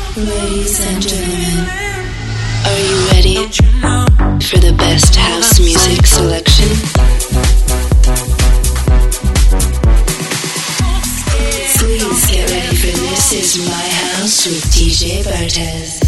Ladies and gentlemen, are you ready for the best house music selection? Please get ready for This Is My House with DJ Bartez.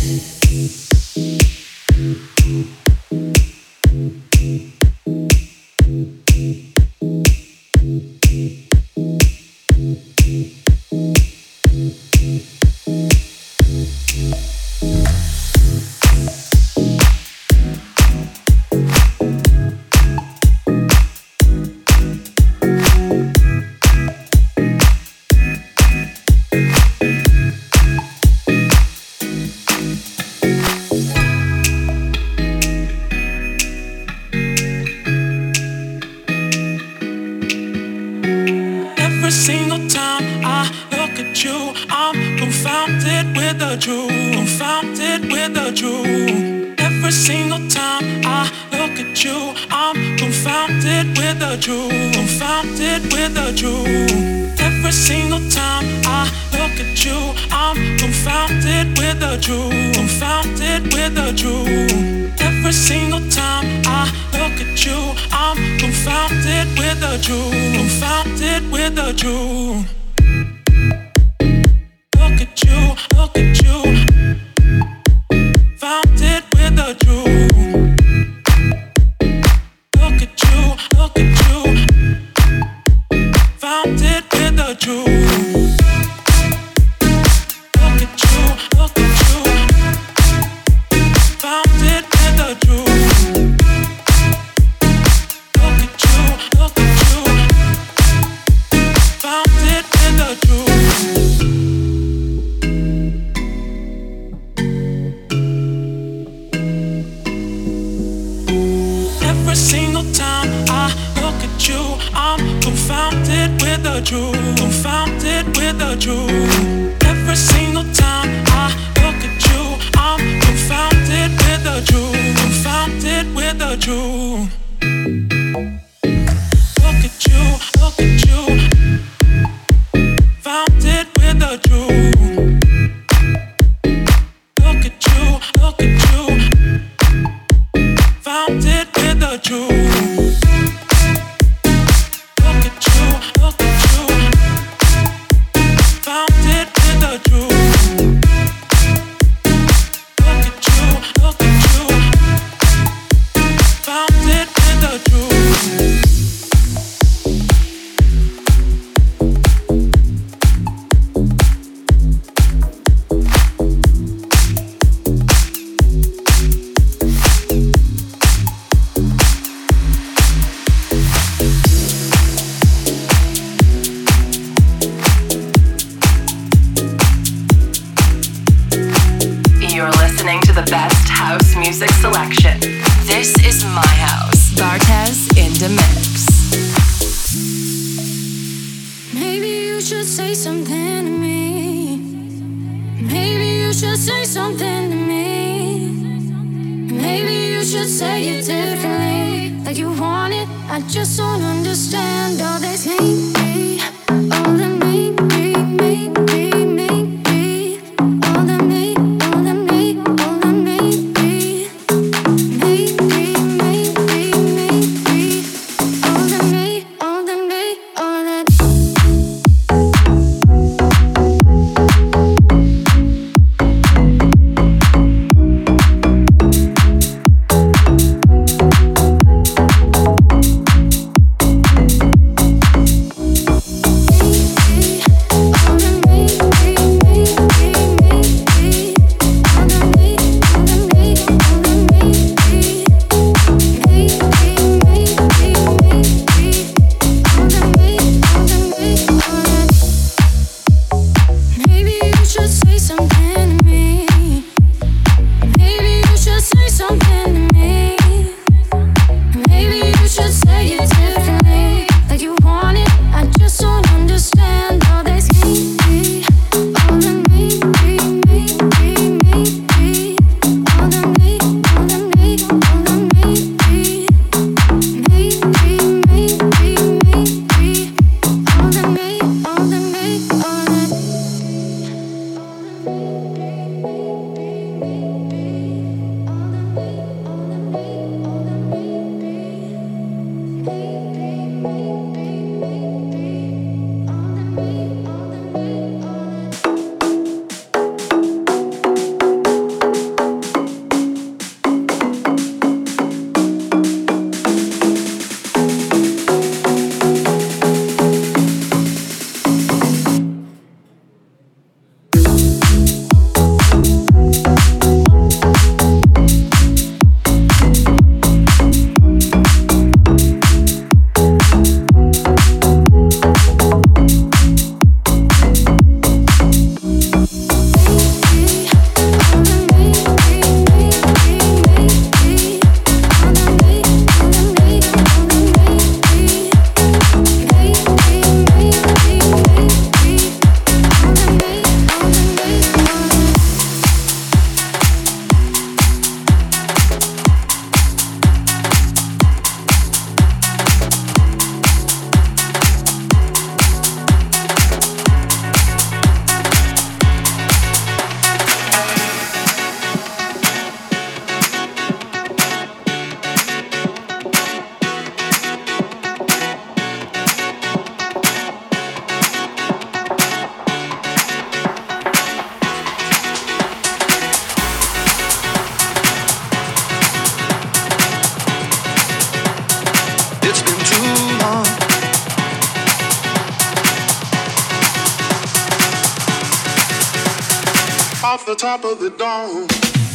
off the top of the dome.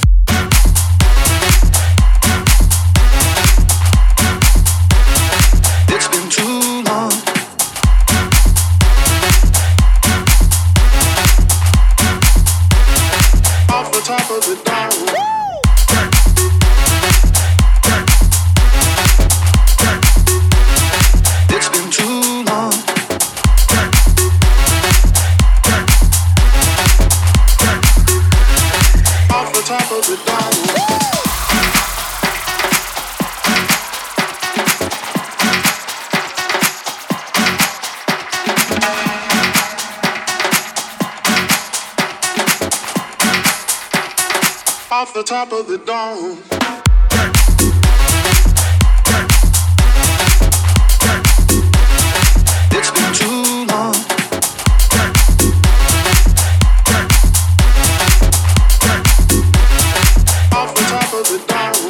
It's been too long. Off the top of the dome. It's been too long. Off the top of the dome. Off the top of the dome. It's been too long. Off the top of the dome.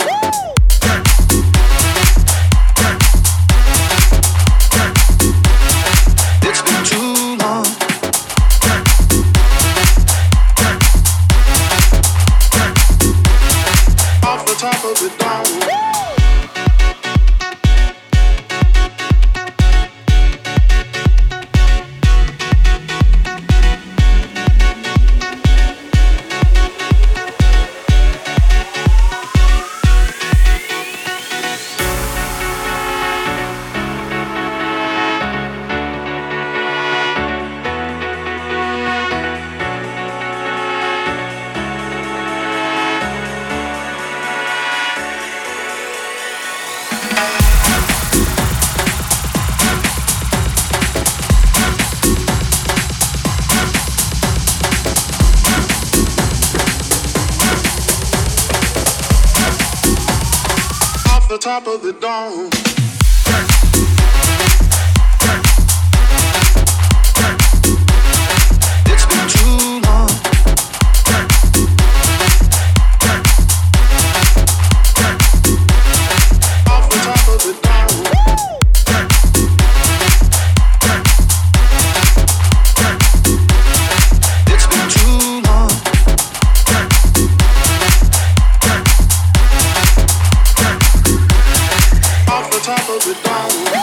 It's been too long. Off the top of the dome. The top of the dome. It's been too long. Off the top of the dome. It's been too long. Off the top of the dome.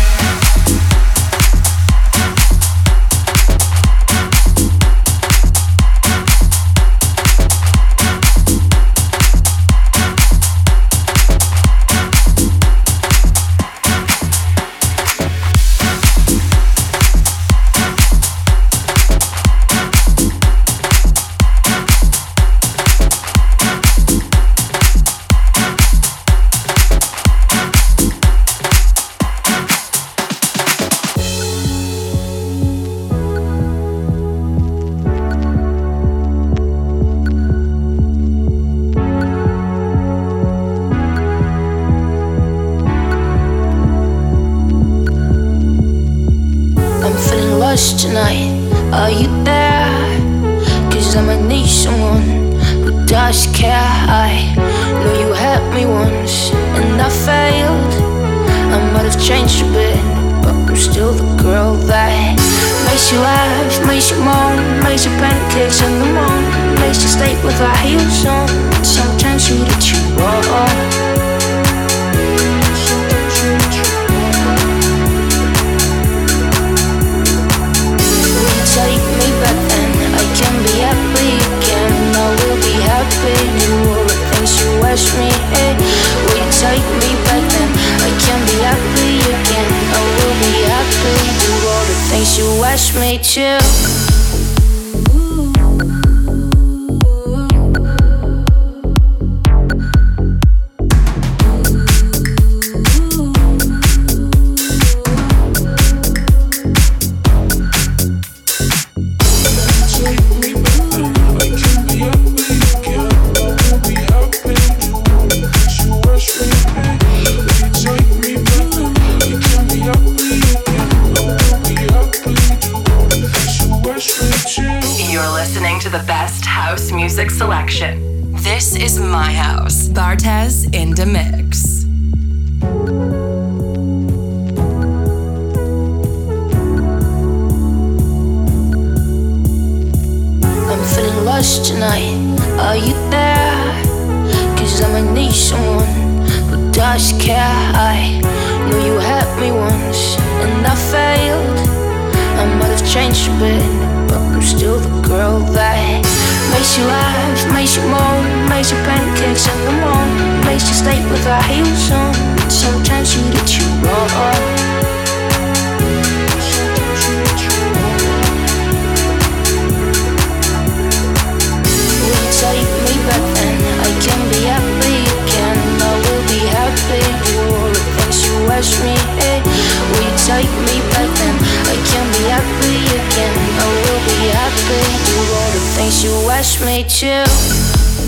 Tonight, are you there? 'Cause I might need someone who does care. I know you had me once and I failed. I might have changed a bit, but I'm still the girl that makes you laugh, makes you moan, makes you pancakes in the morning, makes you stay with our heels on. Sometimes you that you want. Take me back then, I can be happy again. I will be happy, do all the things you asked me. Hey, will you take me back then? I can be happy again. I will be happy, do all the things you asked me to. To the best house music selection. This is my house. Bartez in the mix. us tonight. Are you there? Cause I'ma need someone who does care. I know you had me once and I failed. I might have changed a bit, but I'm still the girl that makes you laugh, makes you moan, makes you pancakes in the morning, makes you stay with our heels on. Sometimes you get you wrong. Take me back then, I can be happy again. I will be happy, do all the things you ask me. Hey, will you take me back then? I can be happy again. I will be happy, do all the things you ask me to.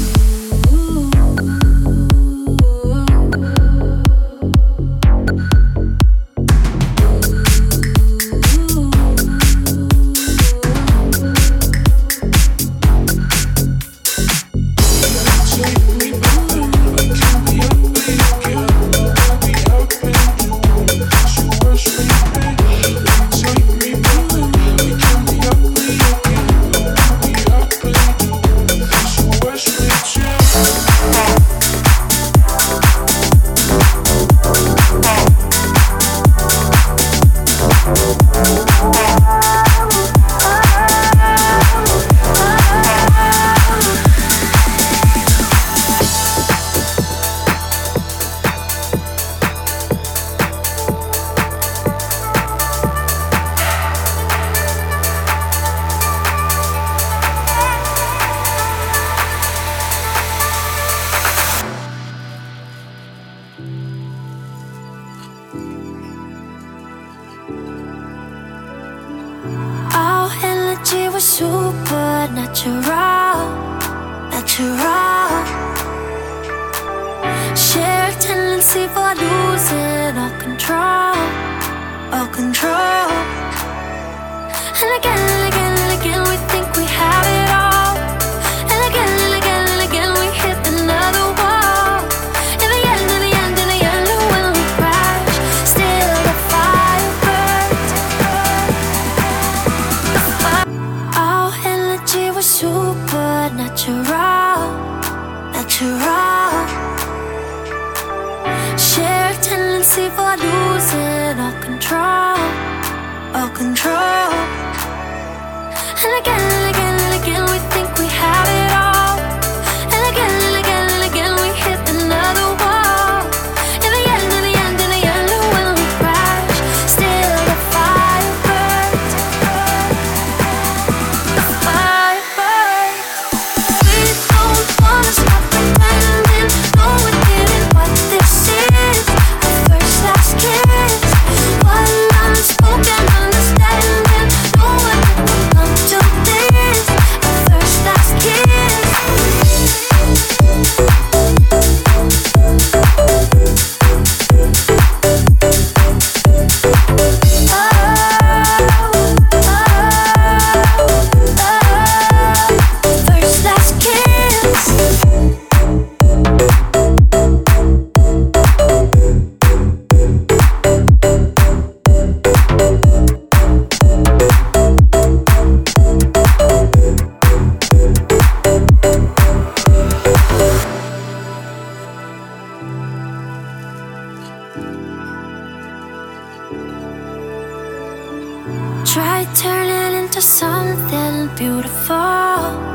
Try turning into something beautiful,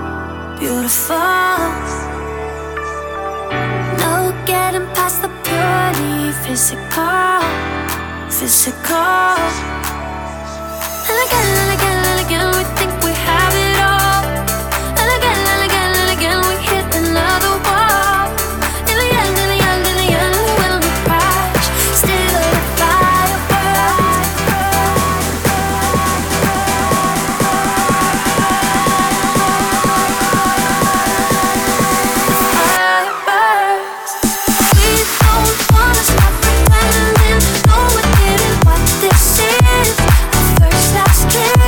beautiful. No getting past the purely physical, physical. And again, we think we have it all. And again, we hit another wall. In the end, when we crash, still a fire burns. Fire burns. We don't wanna stop pretending. No, we didn't what this is. Our first last kiss.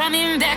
coming back.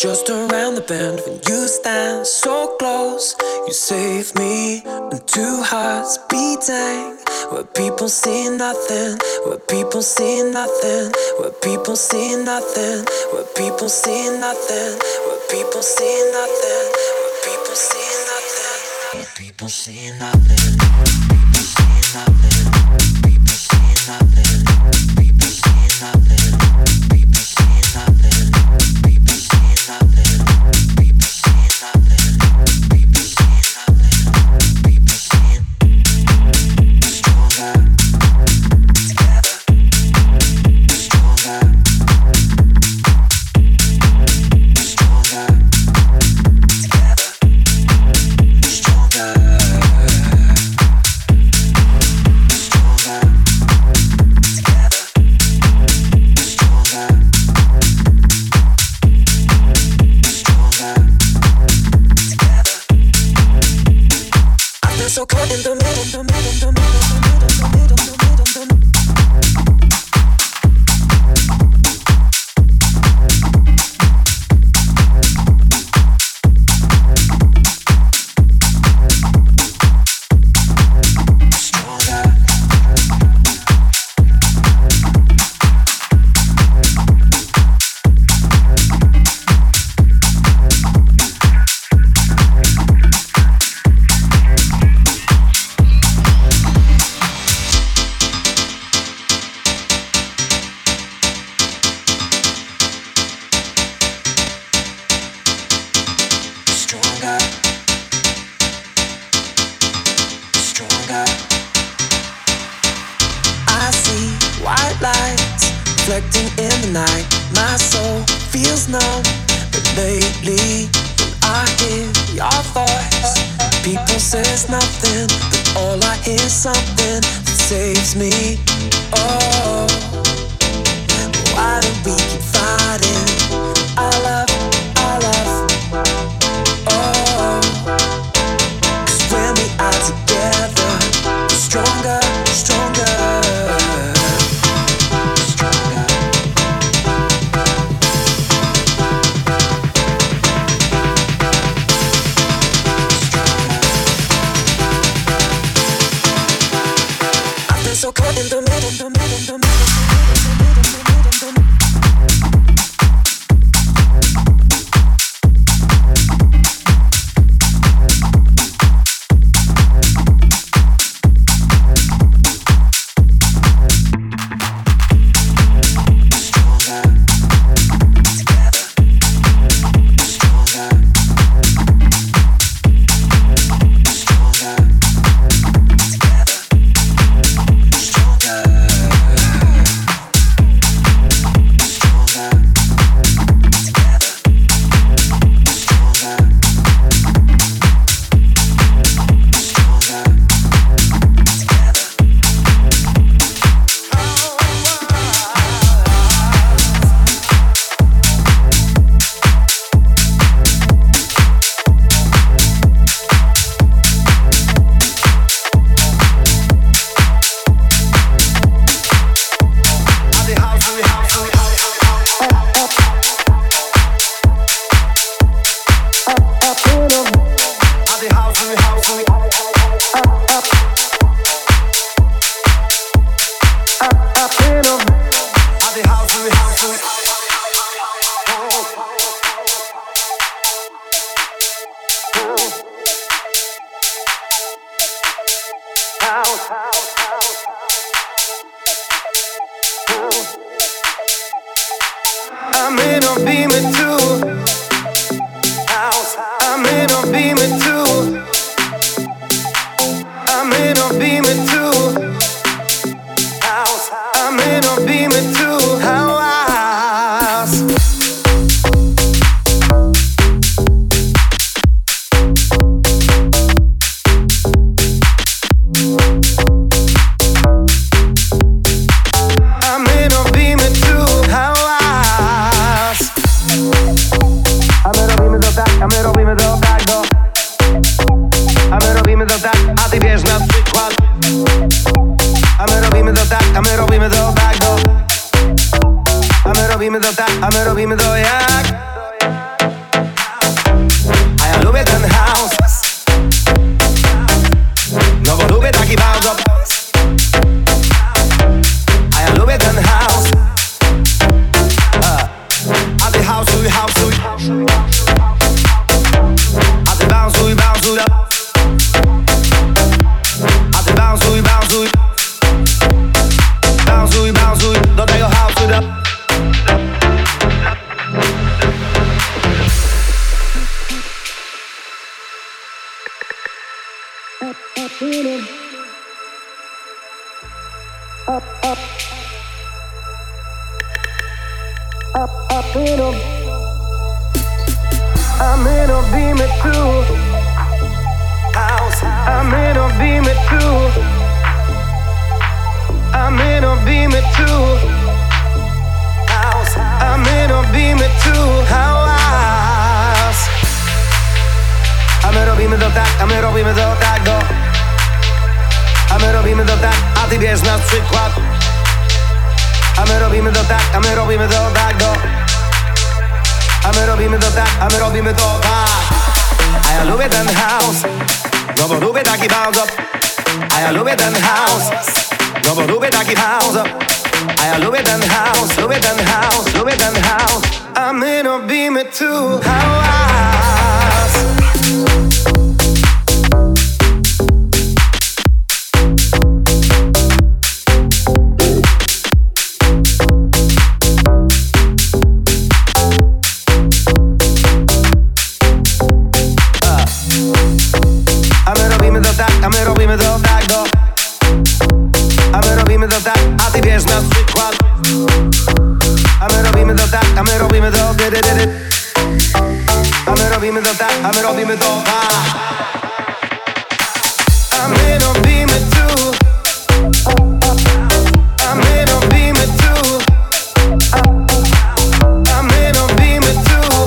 just around the bend. When you stand so close, you save me. And two hearts beating, where people see nothing, where people see nothing, where people see nothing, where people see nothing, where people see nothing, where people see nothing, where people see nothing, people see nothing, people see nothing, people see nothing, people see nothing, people see nothing, people see nothing, people see nothing, people see stronger together, stronger, stronger together, stronger, stronger together, stronger, stronger together. I feel so caught in the middle, the middle, the middle, the middle, the middle, the middle, the middle. Reflecting in the night, my soul feels numb. But lately, when I hear your voice, people say it's nothing, but all I hear is something that saves me. Oh, why do we keep fighting? Our love, our love. Oh, 'cause when we are together, we're stronger, stronger. So caught in the middle, the middle, the middle, the middle, the middle, the middle. robimy to tak, a my robimy to jak? I'm in a beamer too. House. I'm in a beamer too. I'm in a beamer too. House. I'm in a beamer too. House. A my robimy to tak, a my robimy to tak, go. A my robimy to tak, a ty bierz nas przykład. A my robimy to tak, a my robimy to tak, go. A my robimy to tak, a my robimy to tak. A ja lubię ten house, no bo lubię taki bounce up. A ja lubię ten house, no bo lubię taki house up. A ja lubię ten house, lubię ten house, lubię ten house. A my robimy tu house. A my robimy to tak, go. A my robimy to tak, a ty bierz nas przykład. A my robimy to tak, a my robimy to dy. A my robimy to tak, a my robimy to tak. A my robimy tu. A my robimy tu. A my robimy tu.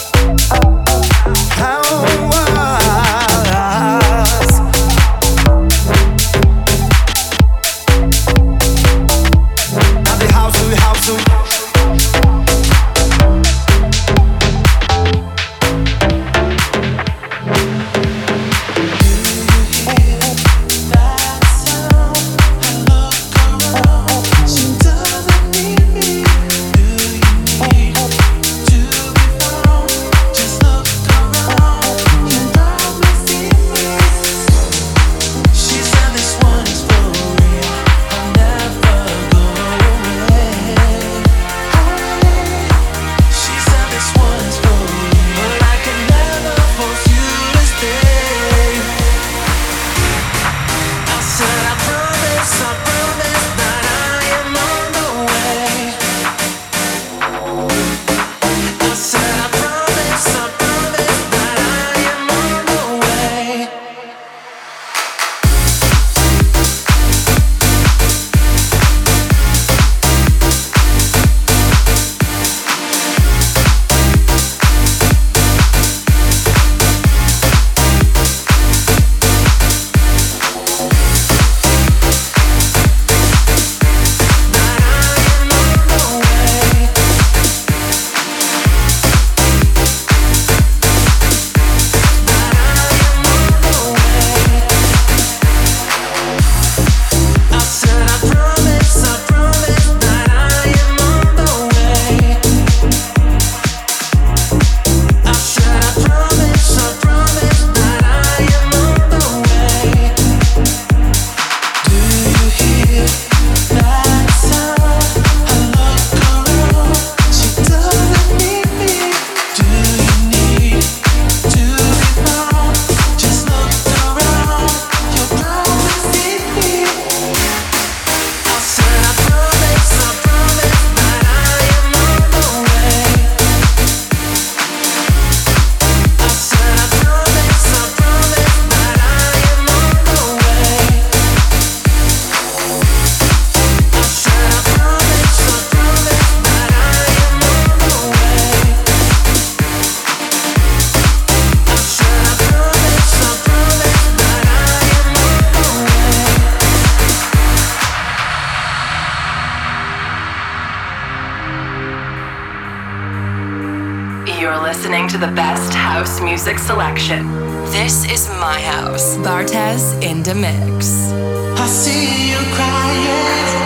Listening to the best house music selection. This is my house. Bartez in the mix. I see you crying.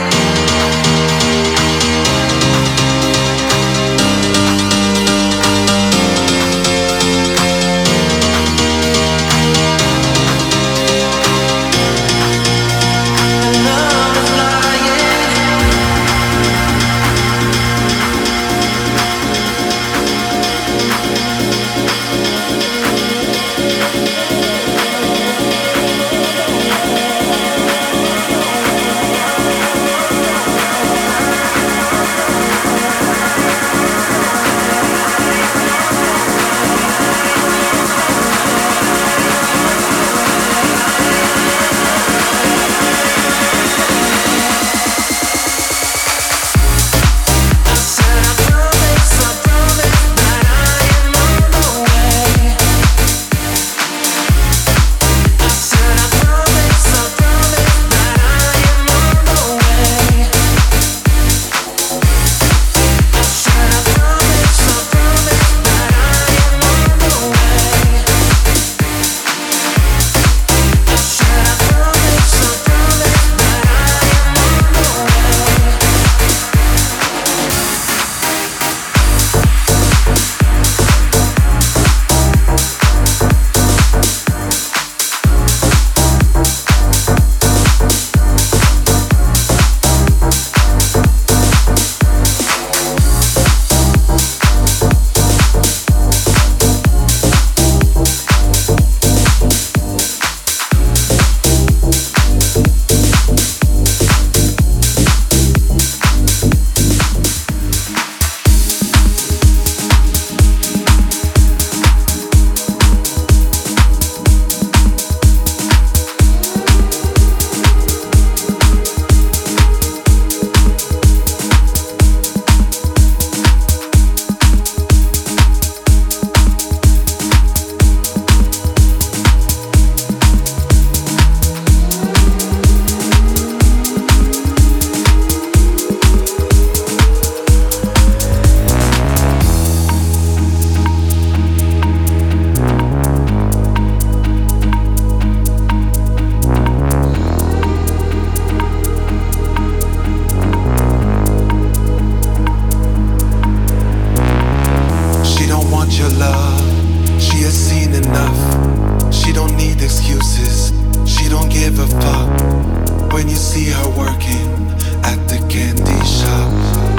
your love. She has seen enough. She don't need excuses. She don't give a fuck when you see her working at the candy shop.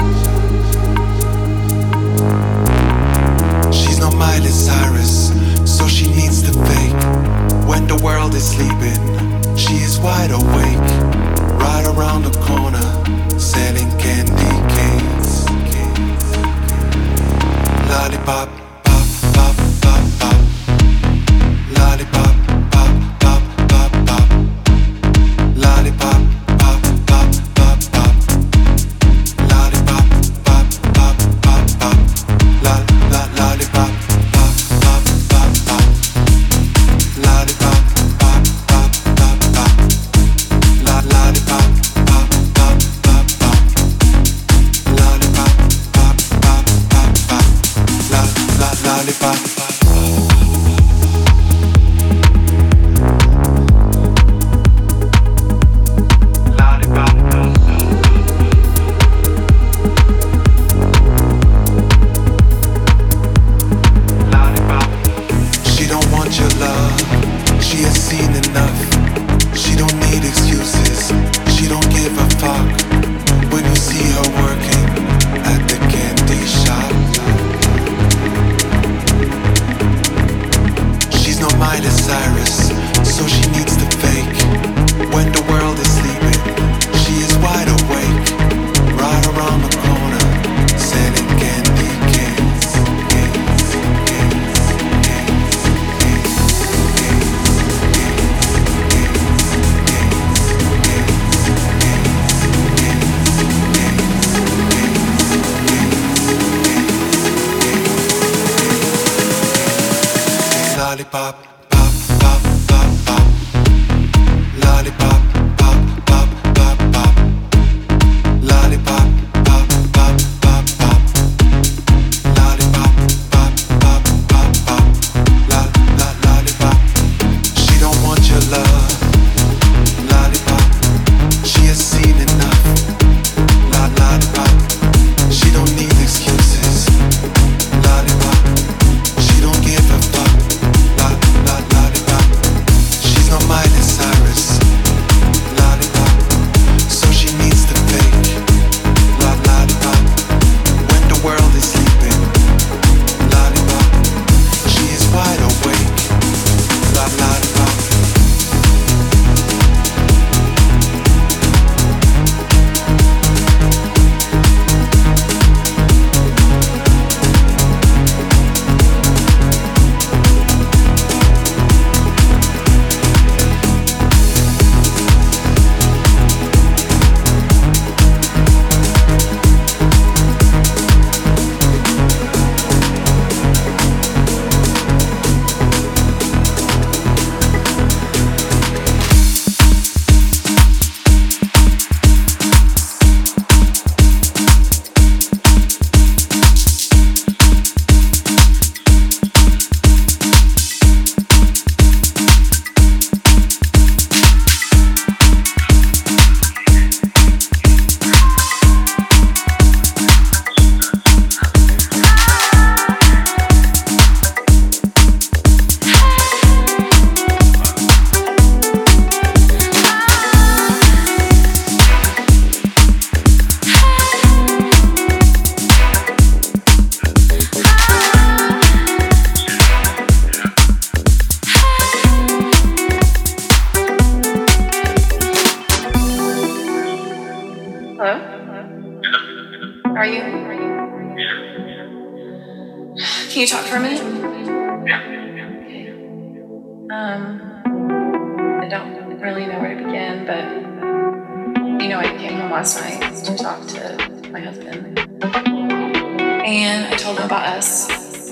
She's not Miley Cyrus, so she needs to fake. When the world is sleeping, she is wide awake. Right around the corner, selling candy canes. Lollipop, pop, pop, pop, pop. Lollipop, pop, pop, pop, pop. Lollipop, pop, pop, pop, pop. Lollipop, pop, pop, pop, pop. Lollipop, pop, pop, pop, pop. Lollipop, pop, pop, pop, pop. Lollipop, pop, pop, pop, pop. Lollipop, pop, pop, pop, pop. Lollipop. She don't want your love. She has seen enough. She don't need excuses. She don't give a fuck when you see her working at the candy shop. She's not Miley Cyrus, so she needs to fake. When the world is sleeping, she is wide awake. Right around the corner, selling candy canes. Lollipop, pop, pop, pop, pop. Lollipop, pop, pop, pop, pop. Lollipop, pop, pop, pop, pop. Lollipop, pop, pop, pop, pop. Lollipop. She don't want your love. Lollipop. She has seen enough. Lollipop. She don't need excuses. Lollipop. She don't give a fuck. Lollipop. She's not Miley Cyrus. Lollipop. So she needs to fake. Lollipop. When the world is sleeping. Lollipop. She is wide awake. Lollipop. Hello? Are you? Can you talk for a minute? Okay. I don't really know where to begin, but I came home last night to talk to my husband, and I told him about us,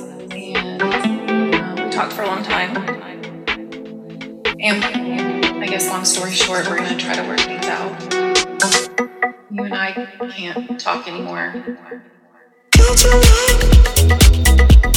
and we talked for a long time, and I guess long story short, we're gonna try to work things out. You and I can't talk anymore.